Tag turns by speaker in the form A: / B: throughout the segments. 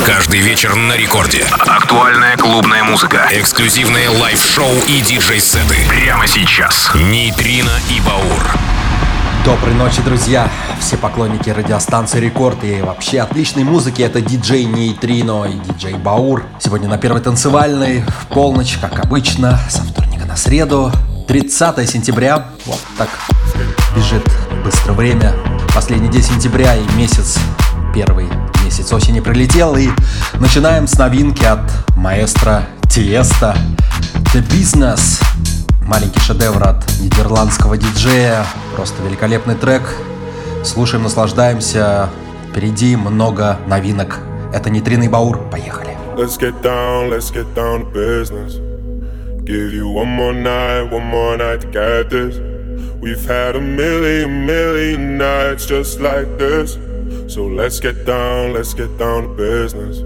A: Каждый вечер на рекорде. Актуальная клубная музыка, эксклюзивные лайв-шоу и диджей-сеты. Прямо сейчас. Нейтрино и Баур.
B: Доброй ночи, друзья! Все поклонники радиостанции Рекорд и вообще отличной музыки — это диджей Нейтрино и диджей Баур. Сегодня на первой танцевальной, в полночь, как обычно, со вторника на среду, 30 сентября. Вот так бежит быстро время. Последний день сентября и первый месяц осени прилетел. И начинаем с новинки от маэстро Тиеста «The Business». Маленький шедевр от нидерландского диджея. Просто великолепный трек. Слушаем, наслаждаемся. Впереди много новинок. Это Нейтрино и Баур. Поехали.
C: Let's get down to business. Give you one more night to get this. We've had a million nights just like this. So let's get down to business.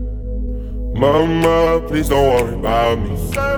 C: Mama, please don't worry about me.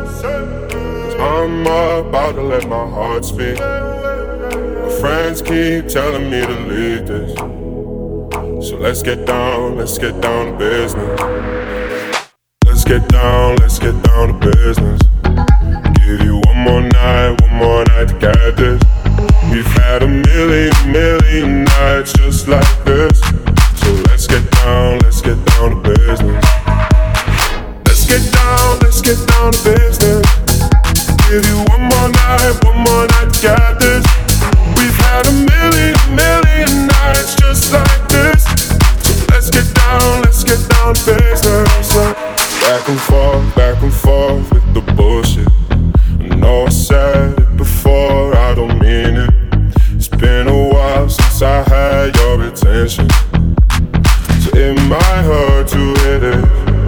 C: I'm about to let my heart speak. My friends keep telling me to leave this. So let's get down to business. Let's get down to business. Give you one more night to get this. We've had a million nights just like this. So let's get down to business. Let's get down to business. Give you one more night to get this. We've had a million nights just like this. So let's get down to business. Back and forth with the bullshit. I know I said it before, I don't mean it. It's been a while since I had your attention, so it might hurt to hit it.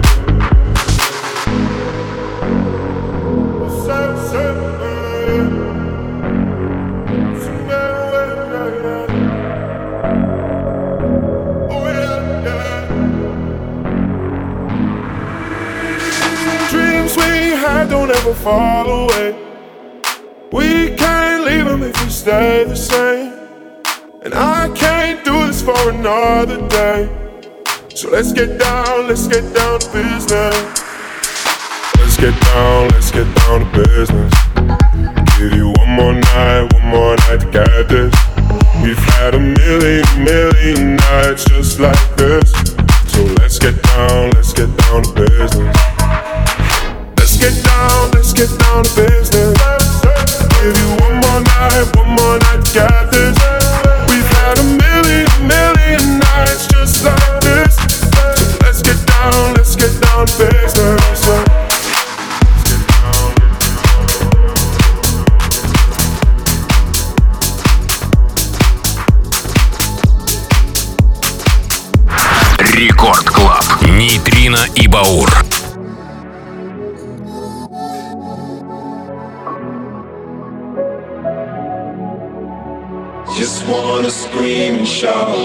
C: Don't ever fall away. We can't leave them if we stay the same. And I can't do this for another day. So let's get down to business. Let's get down to business. Give you one more night to get this. We've had a million nights just like this. So let's get down to business. Let's get down to business. Give you one more night to get this. We've had a million nights just like this. So let's get down to business.
A: Рекорд Клаб. Нейтрино и Баур.
D: Just wanna scream and shout.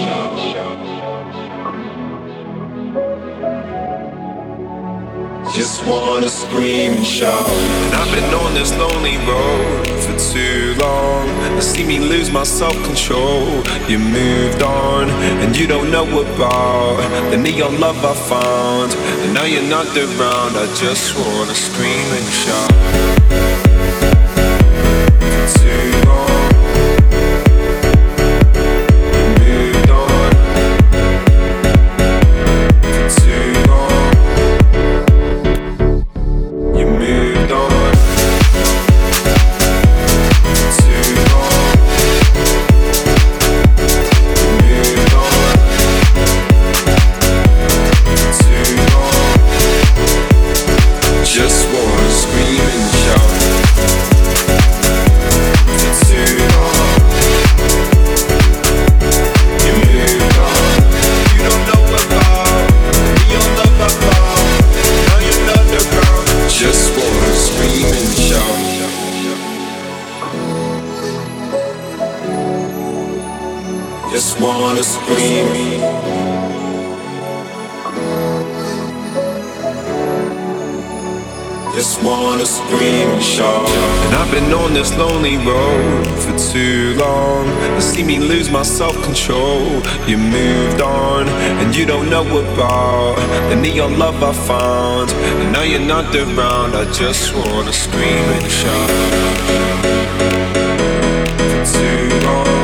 D: Just wanna scream and shout. And I've been on this lonely road for too long. You see me lose my self-control. You moved on and you don't know about the neon love I found. And now you're not around. I just wanna scream and shout. For too long. Just wanna scream and shout. just wanna scream and shout. And I've been on this lonely road for too long. You see me lose my self-control. You moved on, and you don't know about the neon love I found. And now you're not around, I just wanna scream and shout. For too long.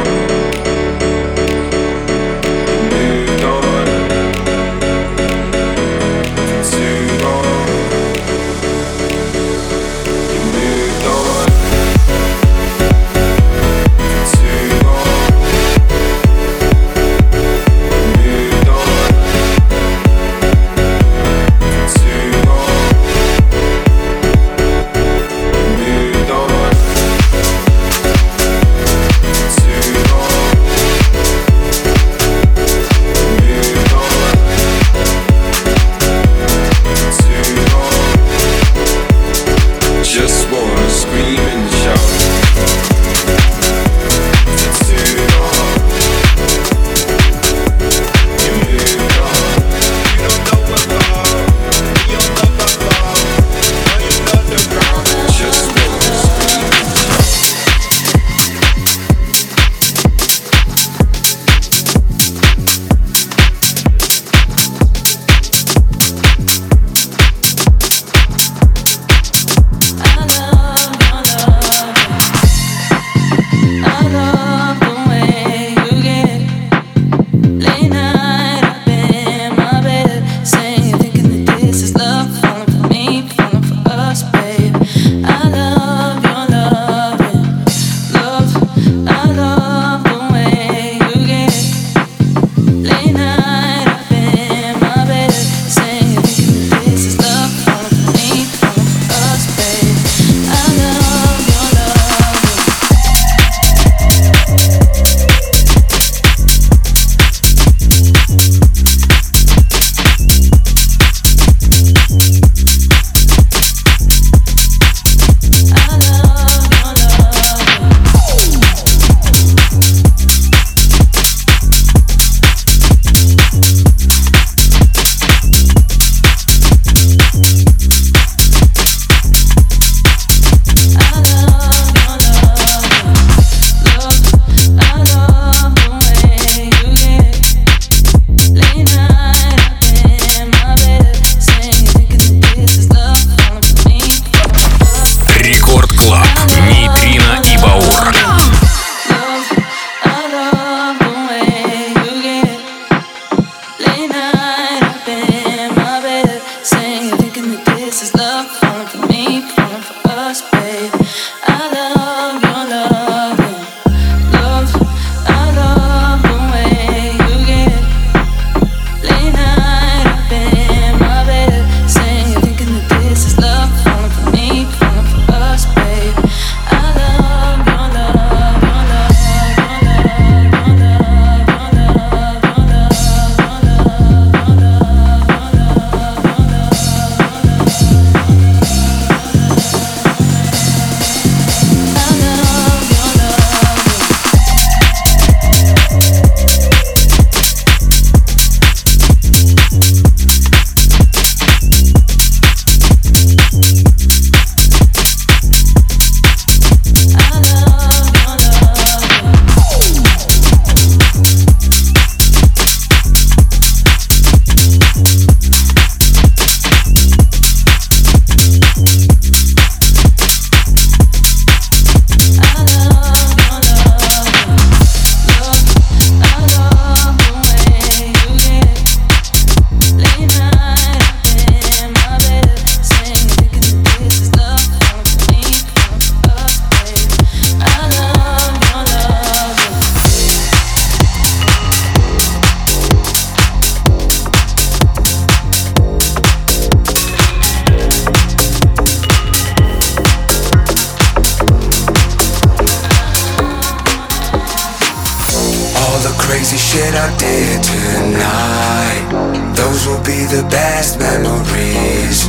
E: crazy shit I did tonight, those will be the best memories.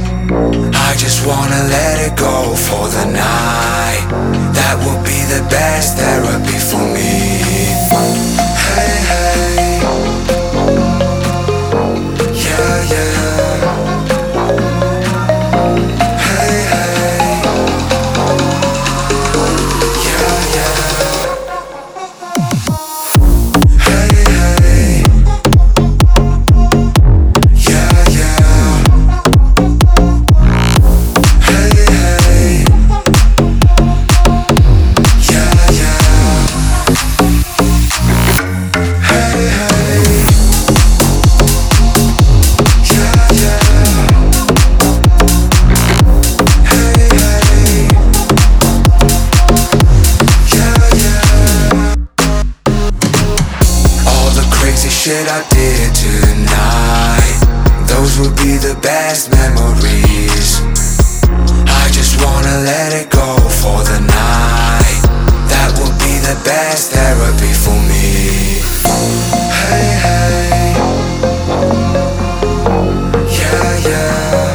E: I just wanna let it go for the night. That will be the best therapy for me. Hey, hey, yeah, yeah. Hey, that I did tonight, those will be the best memories. I just wanna let it go for the night. That will be the best therapy for me. Hey, hey. Yeah, yeah.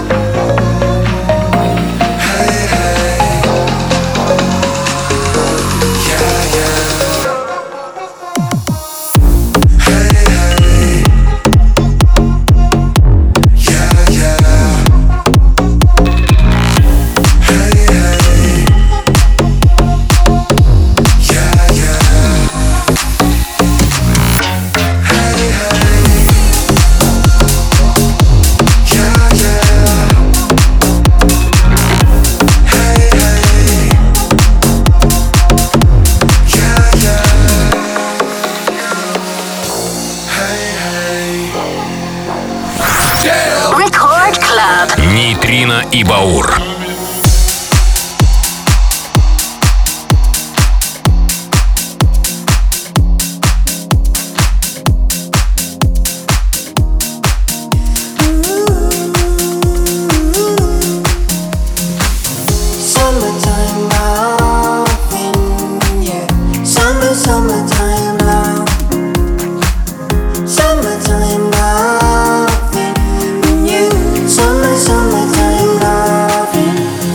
E: Hey, hey. Yeah, yeah. Hey, hey. Yeah, yeah. Hey, hey. Yeah, yeah. Hey, hey. Yeah, yeah. Hey, hey. Yeah, yeah. Hey, hey.
A: Record Club. Нейтрино и Баур.
F: Summertime loving, yeah. Summertime love. Summertime loving, you. Summertime loving.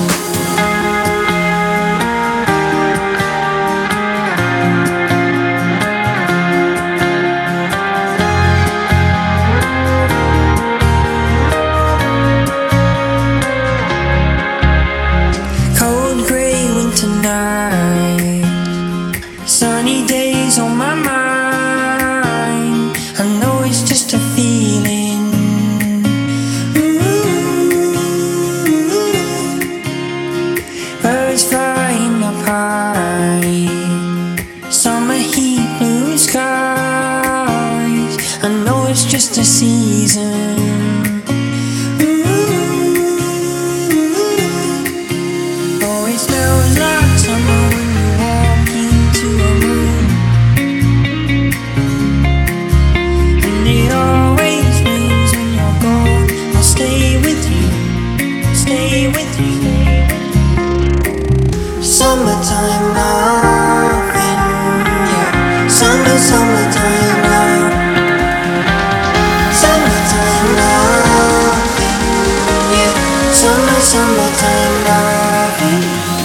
F: Cold gray winter night, sunny days on my mind. I know it's just a feeling. Birds flying up high, summer heat, blue skies. I know it's just a season. Oh, it smells like summer when you walk into a room, and it always rains when you're gone. I'll stay with you, stay with you. Summertime loving, yeah. Summertime love. Summertime loving, yeah. Summertime loving.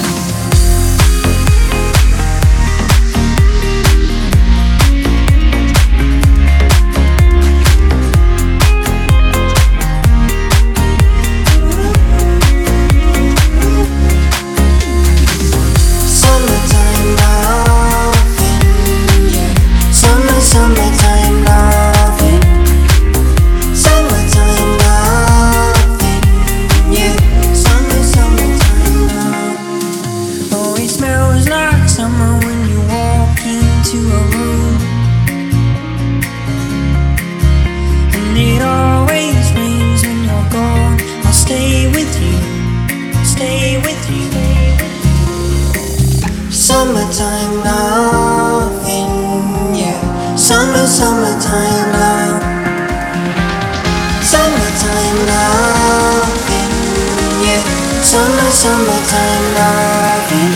F: Summertime loving, yeah. Summertime loving. Summertime loving, yeah. Summertime love. Oh, it smells like summer when you walk into a room, and it always rains when you're gone. I'll stay with you, stay with you. Summertime loving, yeah. Summertime love. Summertime loving, yeah. Summertime loving.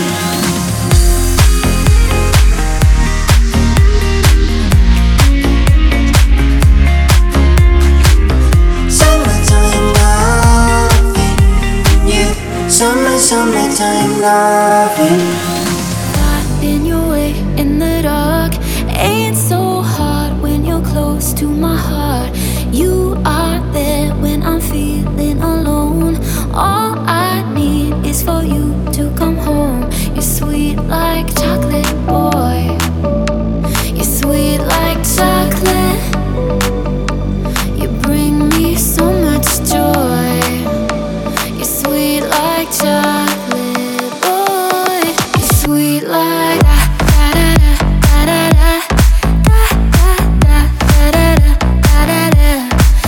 F: Summertime loving, yeah. Summertime loving.
G: In your way in the dark, ain't so hard when you're close to my heart. You are there when I'm feeling alone. All I need is for you to come home. You're sweet like chocolate, boy. You're sweet like chocolate. You bring me so much joy. You're sweet like chocolate, boy. You're sweet like da da da da da da da da da da da da da.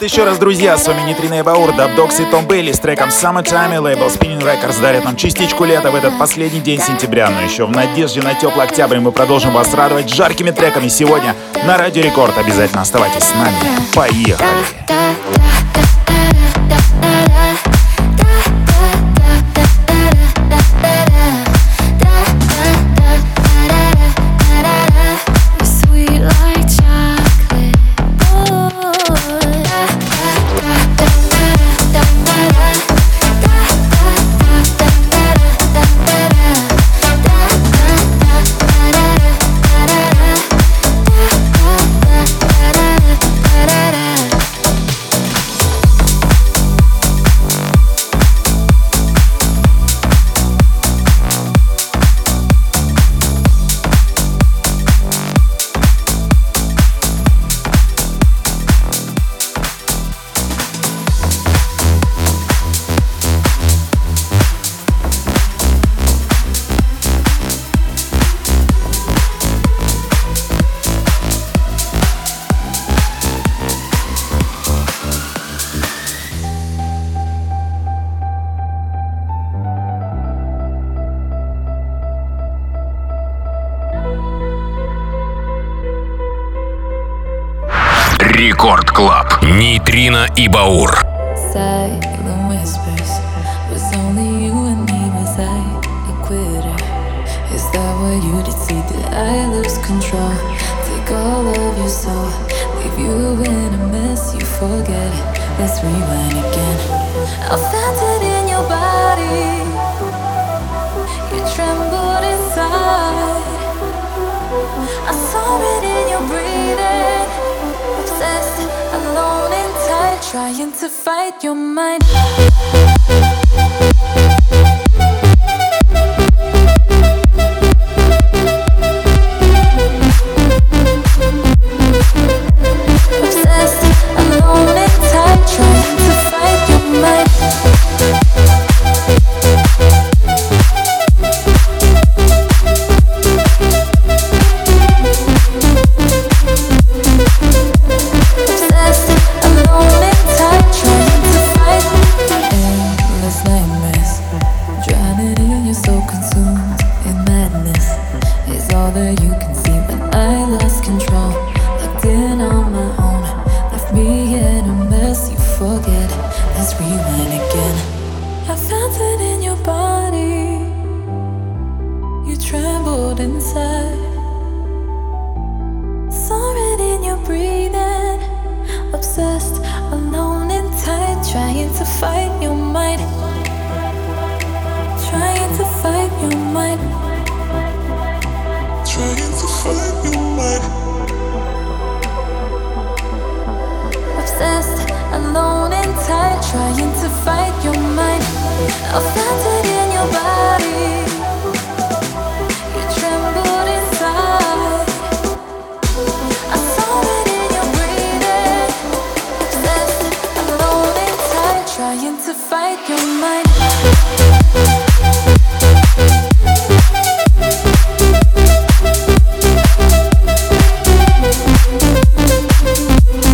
H: еще раз, друзья, с вами Нейтрино и Баур, Дабдокс и Том Бейли с треком Summertime, и лейбл Spinning Records дарит нам частичку лета в этот последний день сентября. Но еще в надежде на теплый октябрь мы продолжим вас радовать жаркими треками сегодня на Радио Рекорд. Обязательно оставайтесь с нами. Поехали!
A: Рекорд Клаб. Нейтрино и Баур.
G: I saw it in your breathing, obsessed, alone and tight, trying to fight your mind. Obsessed, alone and tight, trying to fight your mind.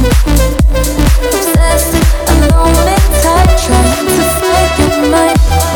G: Obsessed, alone and tight, trying to fight your mind.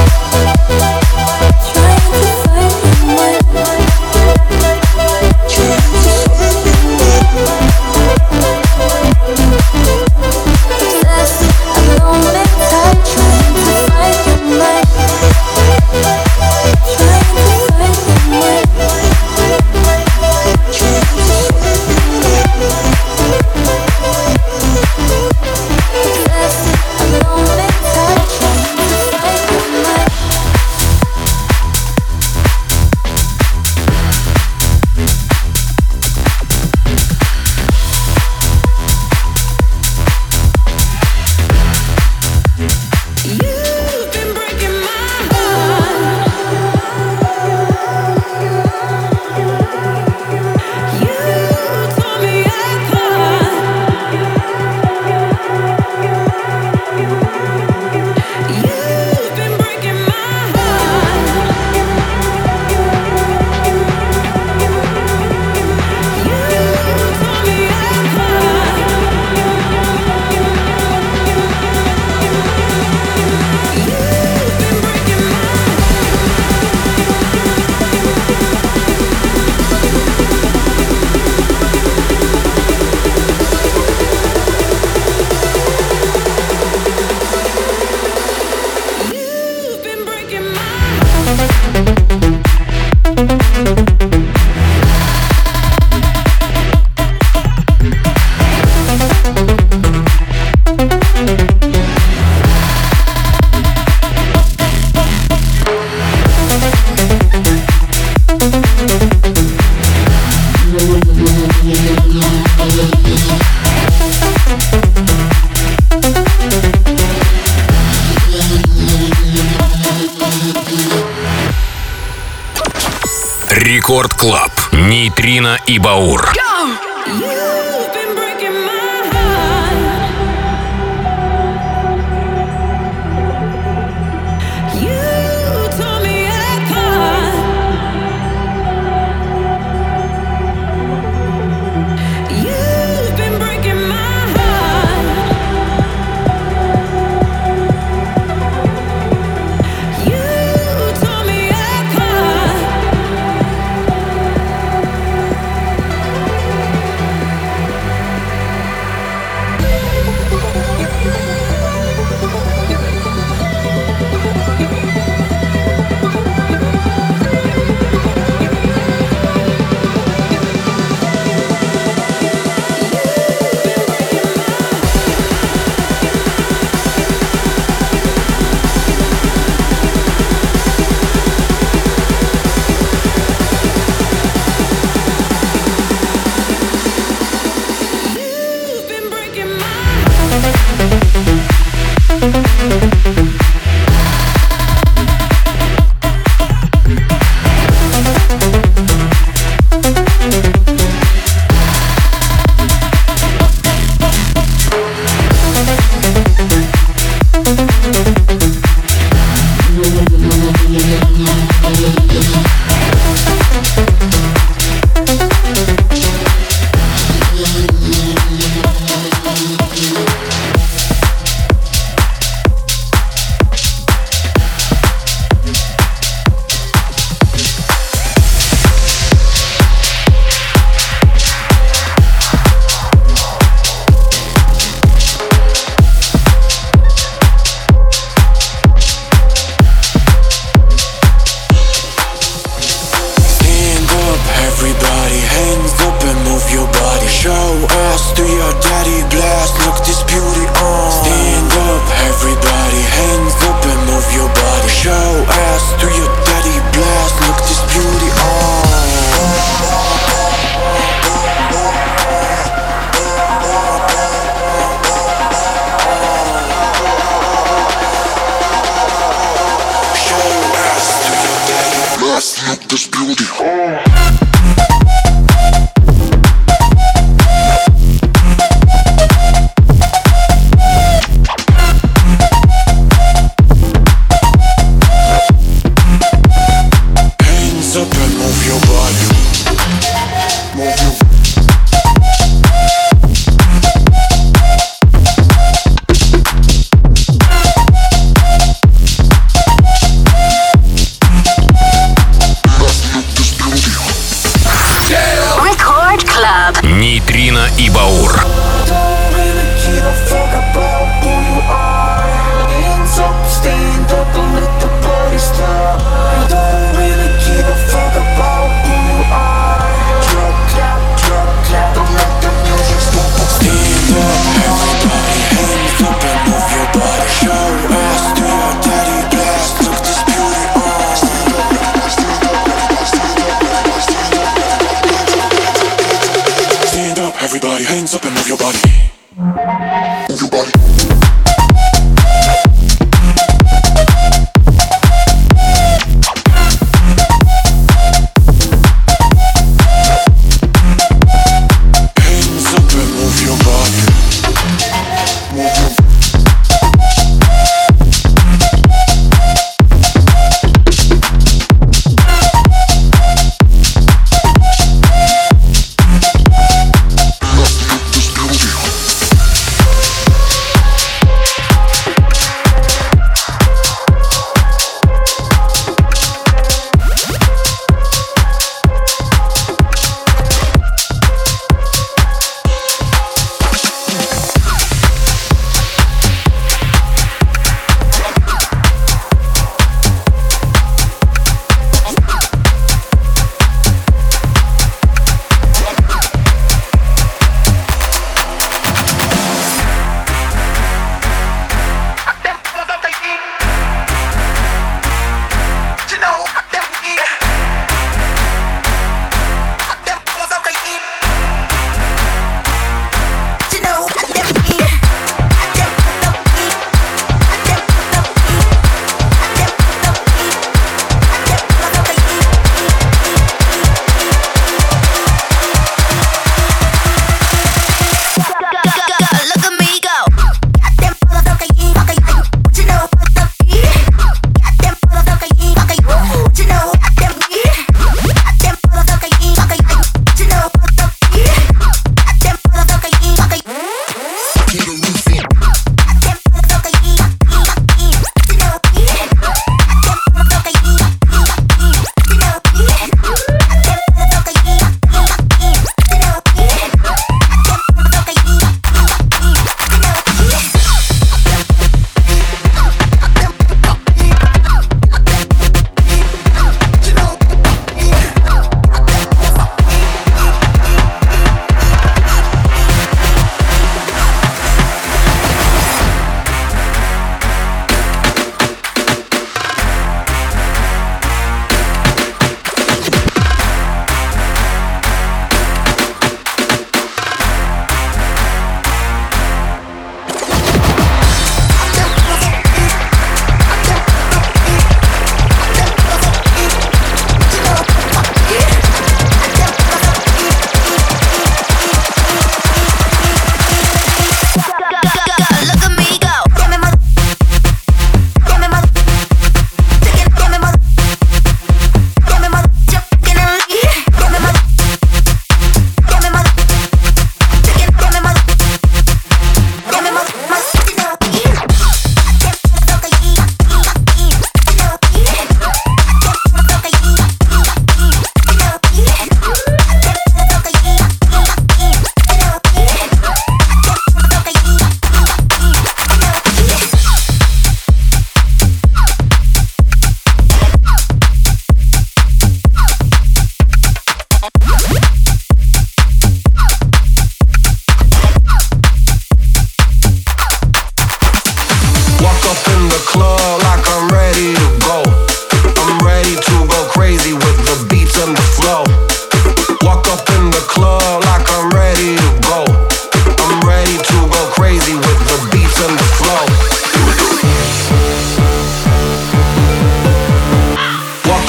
A: Рекорд Клаб. Нейтрино и Баур.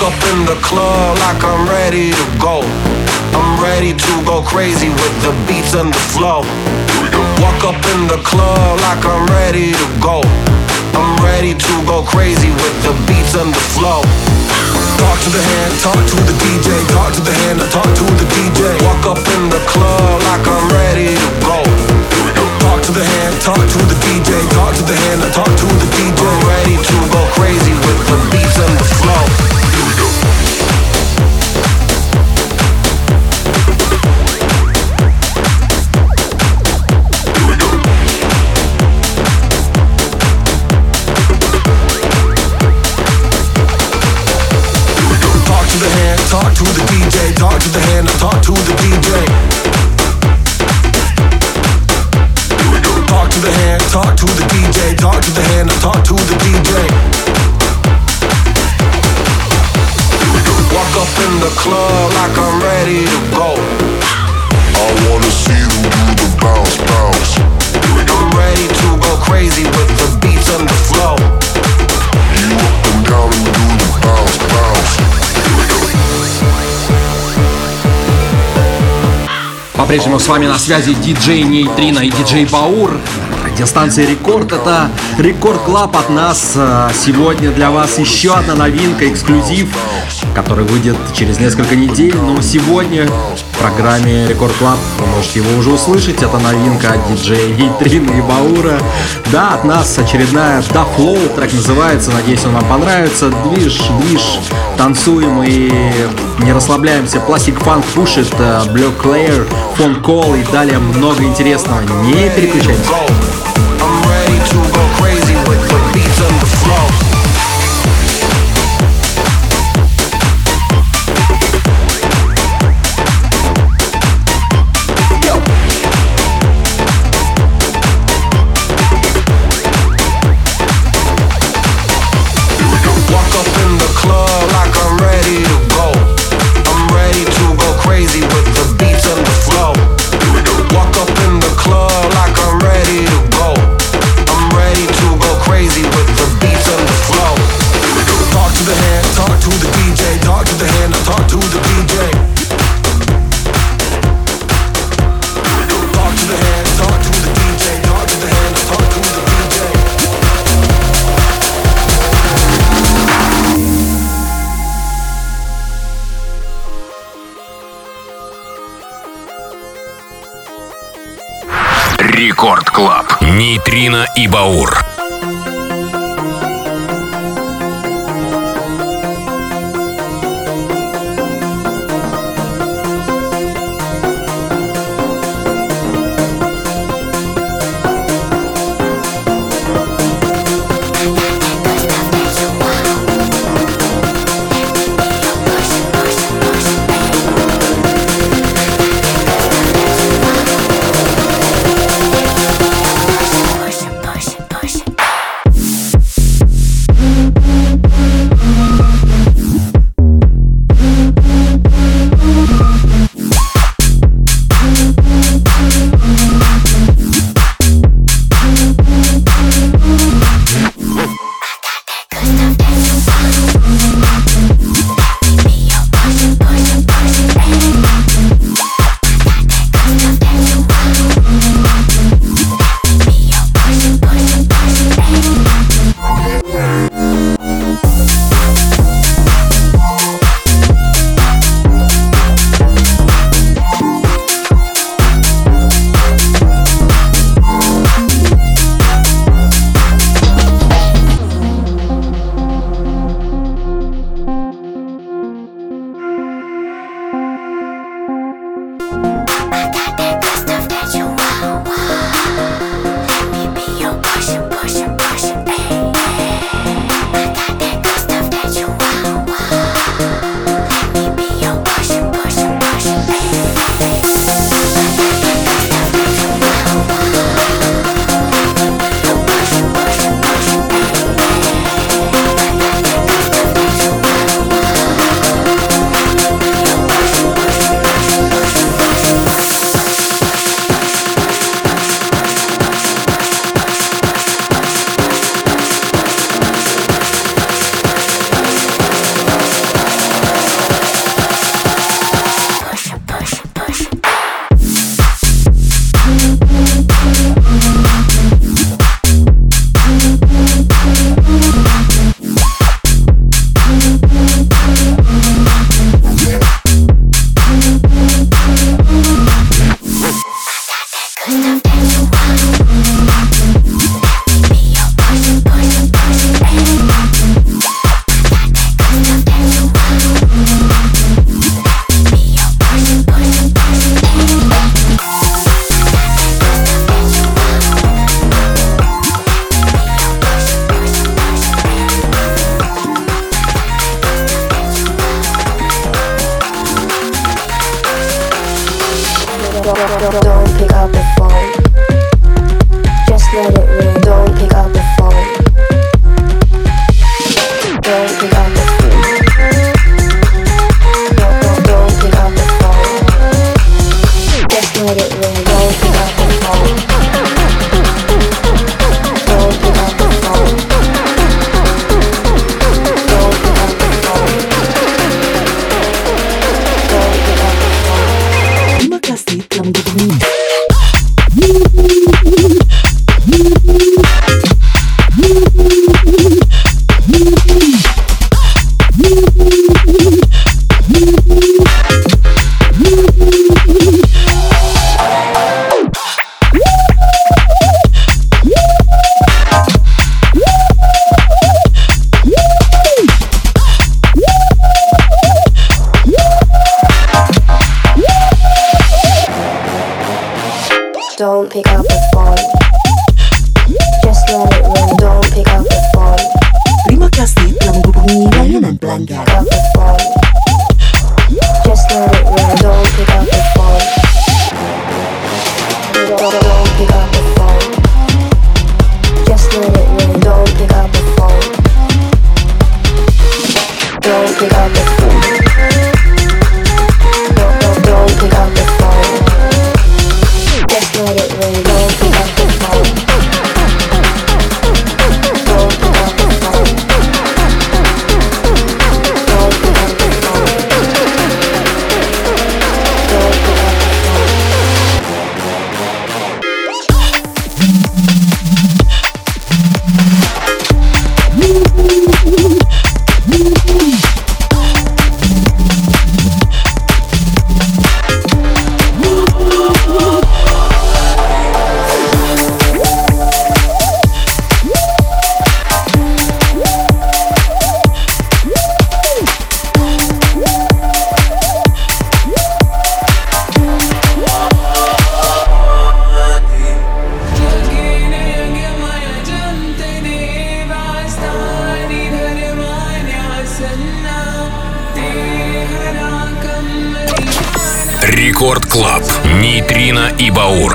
E: Walk up in the club like I'm ready to go. I'm ready to go crazy with the beats and the flow. Walk up in the club like I'm ready to go. I'm ready to go crazy with the beats and the flow. Talk to the hand, talk to the DJ. Talk to the hand, talk to the DJ. Walk up in the club like I'm ready to go. Talk to the hand, talk to the DJ. Talk to the hand, talk to the DJ. I'm ready to go crazy with the beats and the flow. Talk to the DJ, talk to the hand, talk to the DJ. Talk to the hand, talk to the DJ, talk to the hand, talk to the DJ. Walk up in the club like I'm ready to go. I wanna see you do the bounce, bounce. I'm ready to go crazy with the beats and the flow. You up and down and do the bounce, bounce.
B: По-прежнему с вами на связи диджей Нейтрино и диджей Баур. Радиостанция Рекорд — это Рекорд Клаб от нас. Сегодня для вас еще одна новинка, эксклюзив, который выйдет через несколько недель. Но сегодня в программе Рекорд Клаб вы можете его уже услышать. Это новинка от диджея Нейтрино и Баура. Да, от нас очередная Da Flow, трек называется. Надеюсь, он вам понравится. Движ, танцуем и не расслабляемся. Plastic Funk пушит, Black Layer, Phone Call и далее много интересного. Не переключайтесь.
E: I'm ready to go crazy with the beats and the flow. Walk up in the club like I'm ready to go. I'm ready to go crazy with the beats and the flow. Walk up in the club like I'm ready to go. I'm ready to go crazy with the beats and the flow. Talk to the hand, talk to the DJ. Talk to the hand, talk to the DJ. Talk to the hand, talk to the DJ. Talk to the hand, talk to the DJ.
A: Рекорд Клаб. Нейтрино и Баур.
G: Push it, push it, push it.
I: Don't pick up the phone. Just let it ring. Don't pick up the phone. Don't pick up the phone. Don't pick up the phone. Just let it ring. Don't pick up the phone. Don't pick up the phone. Don't pick up the phone. Don't pick up the phone. Terima kasih telah menghubungi. Don't pick up the phone. Just let it ring. Don't pick up the phone.
J: Terima kasih telah menghubungi layanan pelanggan.
I: Pick up the phone. Just let it ring. Don't pick up the phone. Don't pick up the phone. Just let it ring. Don't pick up the phone. Don't pick up the phone. Don't pick up the phone. Just let it ring. Don't pick up the phone. Don't pick up the phone. Don't pick up the phone. Don't pick up the phone.
A: Рекорд Клаб. Нейтрино и Баур.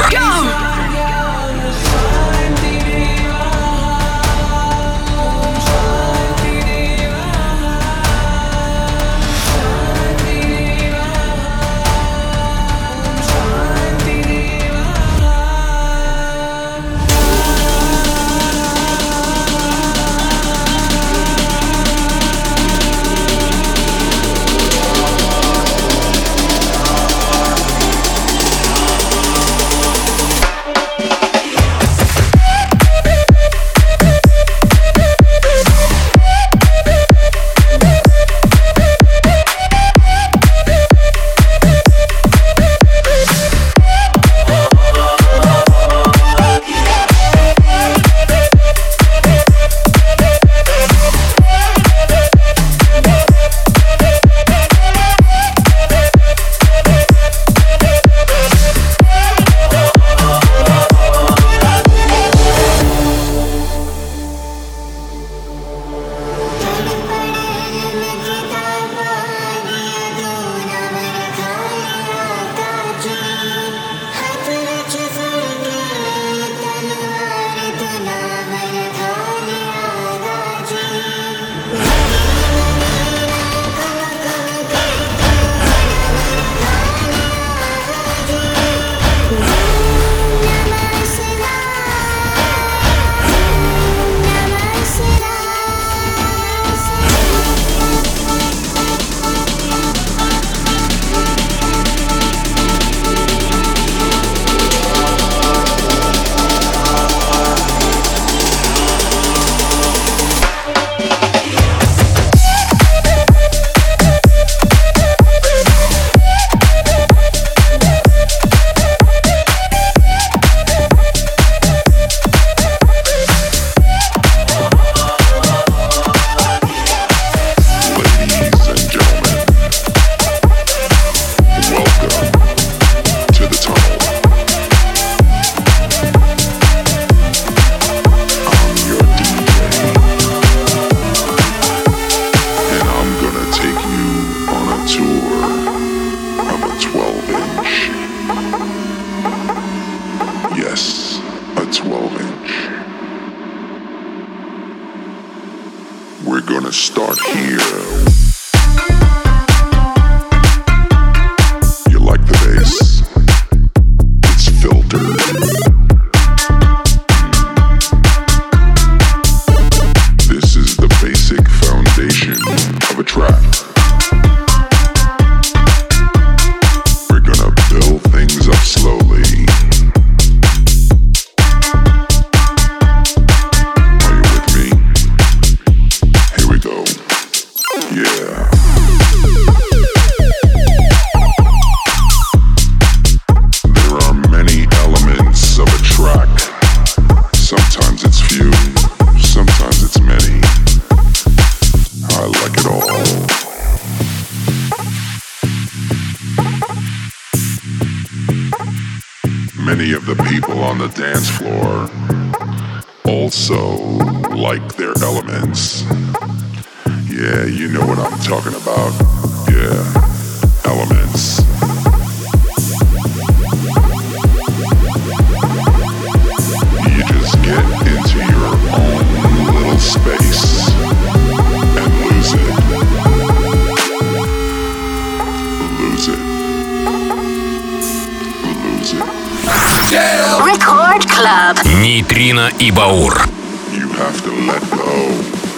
C: Many of the people on the dance floor also like their elements. Yeah, you know what I'm talking about. Yeah, elements. You just get into your own little space and lose it. Lose it. Lose it.
K: Record Club.
A: Нейтрино и Баур.
C: You have to let go.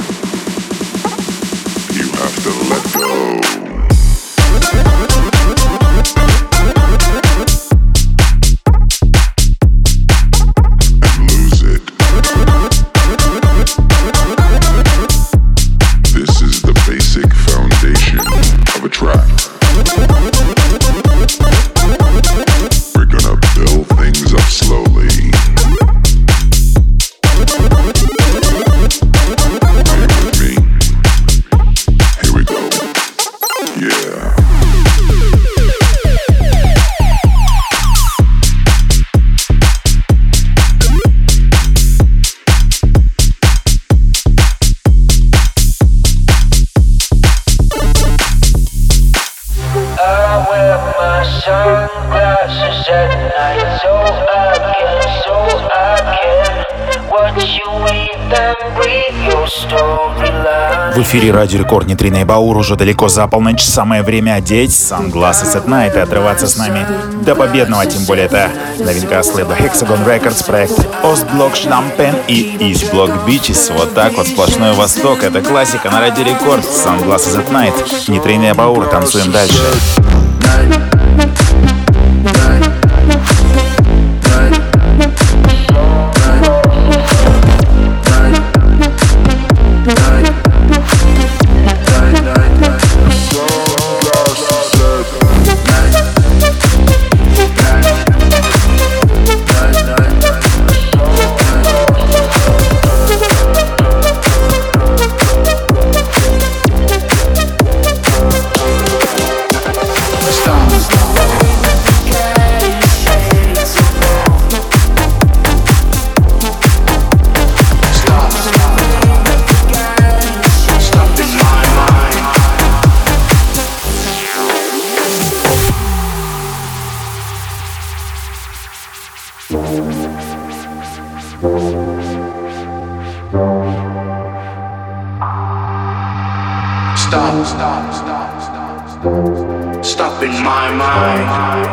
C: You have to let go. And lose it. This is the basic foundation of a track. We're gonna build things up slowly.
H: В эфире Радио Рекорд, Нейтрино и Баур. Уже далеко за полночь. Самое время одеть Sunglasses at Night и отрываться с нами до победного. Тем более это новинка с лейбла Hexagon Records, проект Ostblock Schlampen и East Block Beaches. Вот так вот, сплошной восток. Это классика на Радио Рекорд. Sunglasses at Night. Нейтрино и Баур. Танцуем дальше.
E: Stop in my mind.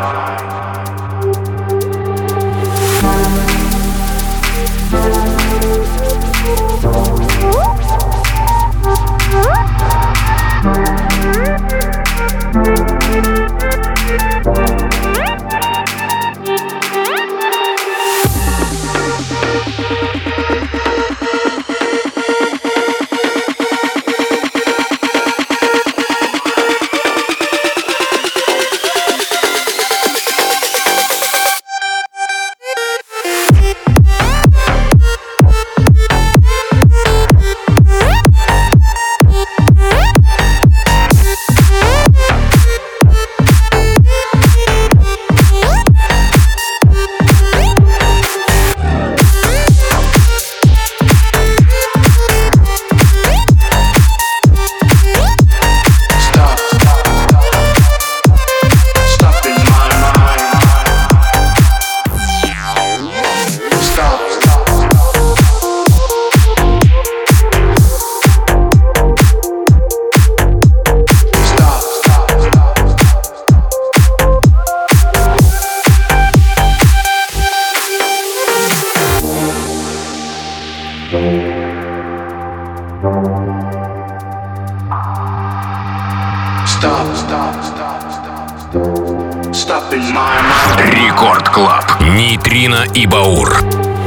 A: Рекорд Клаб. Нейтрино и Баур.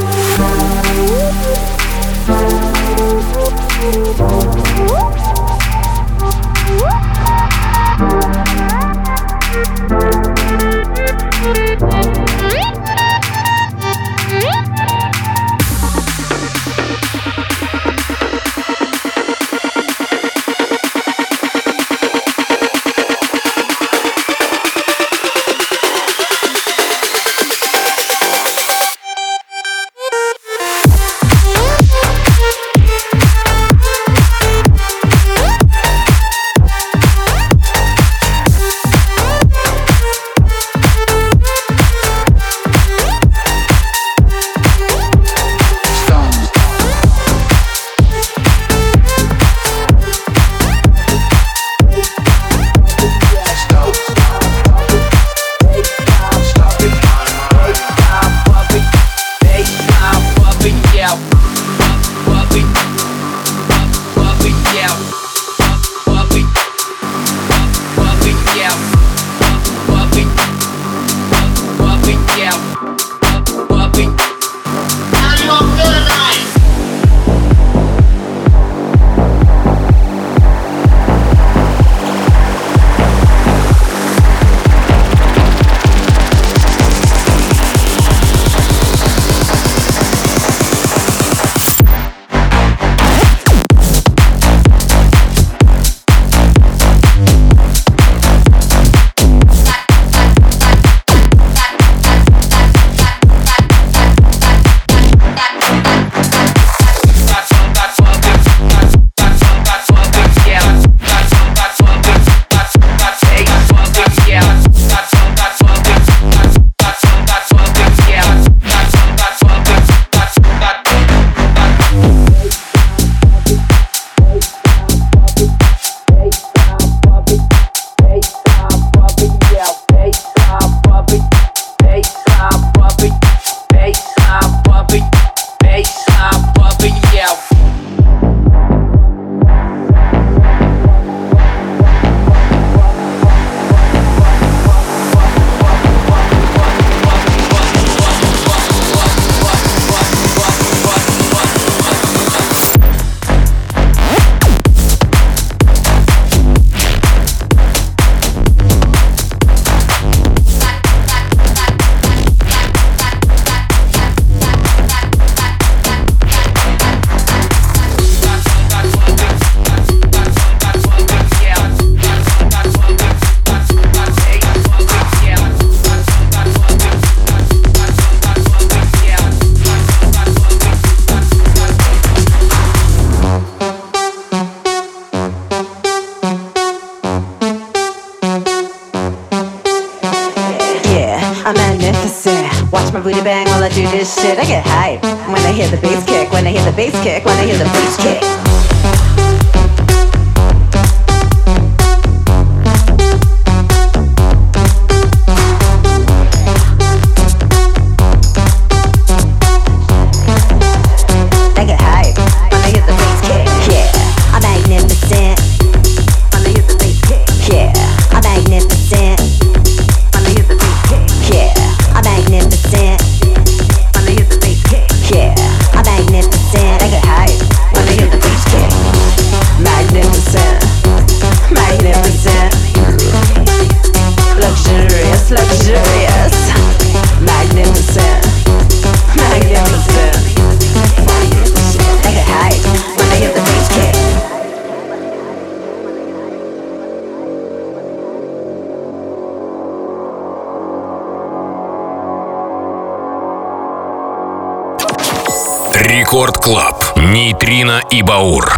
J: booty bang while I do this shit. I get hype when I hear the bass kick, when I hear the bass kick, when I hear the bass kick.
A: Рекорд Клаб. Нейтрино и Баур.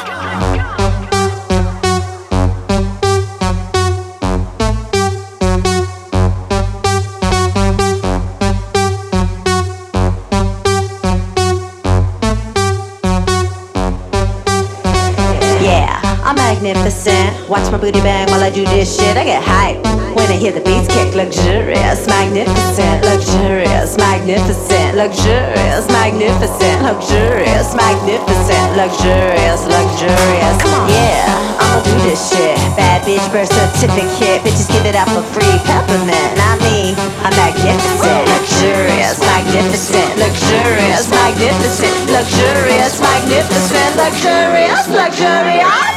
J: Magnificent, watch my booty bang while I do this shit. I get hype when I hear the beats kick. Luxurious, magnificent, luxurious, magnificent, luxurious, magnificent, luxurious, magnificent, luxurious, luxurious. Come on, yeah, I'ma do this shit. Bad bad bitch birth certificate. Bitches give it up for free. Peppermint, not me. I'm magnificent, luxurious, magnificent, luxurious, magnificent, luxurious, magnificent, luxurious, luxurious.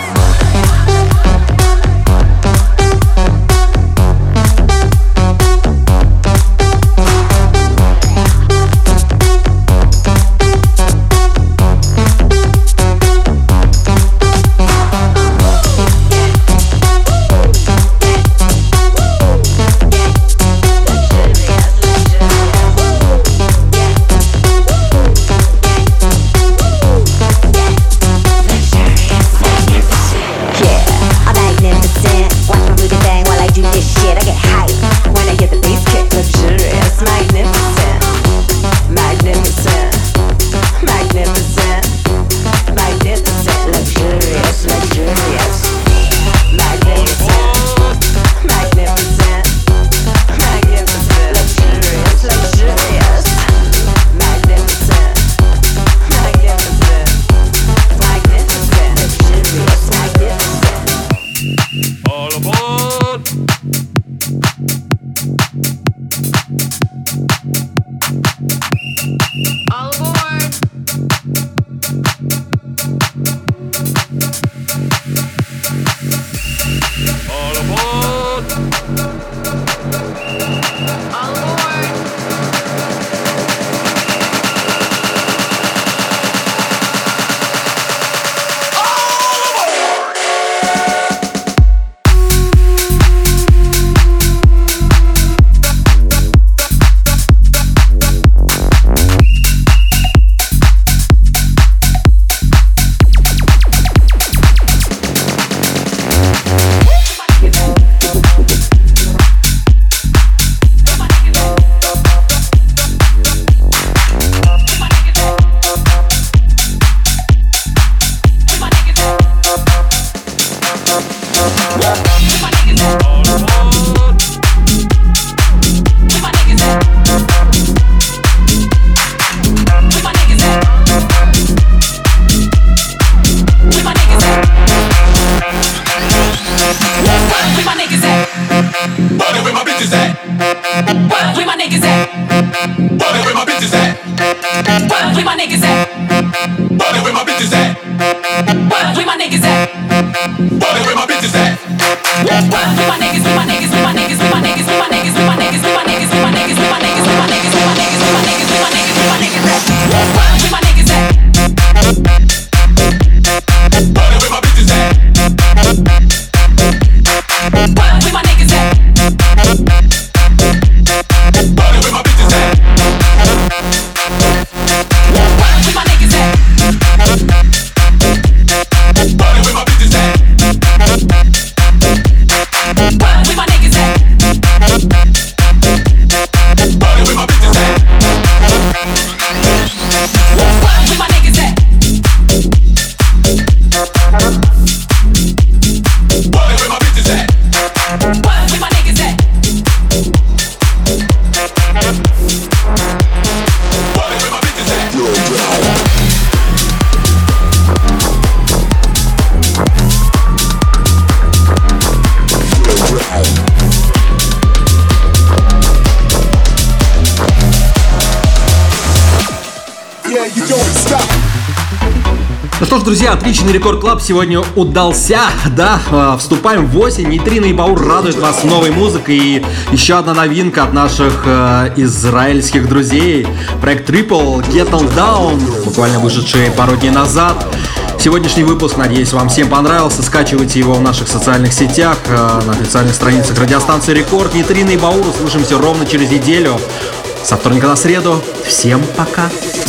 B: Ну что ж, друзья, отличный Рекорд Клаб сегодня удался, да, вступаем в осень, Нейтрино и Баур радуют вас новой музыкой, и еще одна новинка от наших израильских друзей, проект Triple, Get On Down, буквально вышедший пару дней назад. Сегодняшний выпуск, надеюсь, вам всем понравился, скачивайте его в наших социальных сетях, на официальных страницах радиостанции Рекорд. Нейтрино и Баур, услышимся ровно через неделю, со вторника на среду. Всем пока!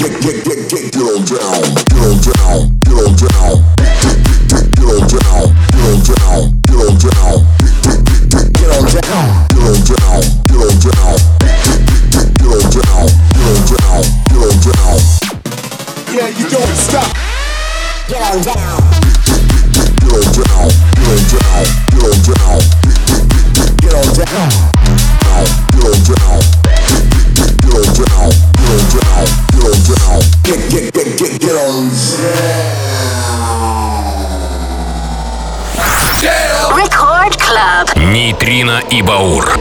L: Yeah, you don't stop. Get on down. Get on down. Get on down. Get on down. Get on down. Get on down. Get on down. Get on down. Get on. Yeah.
K: Club.
A: Нейтрино и Баур.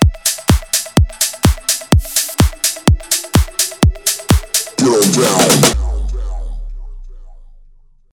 L: Get on down.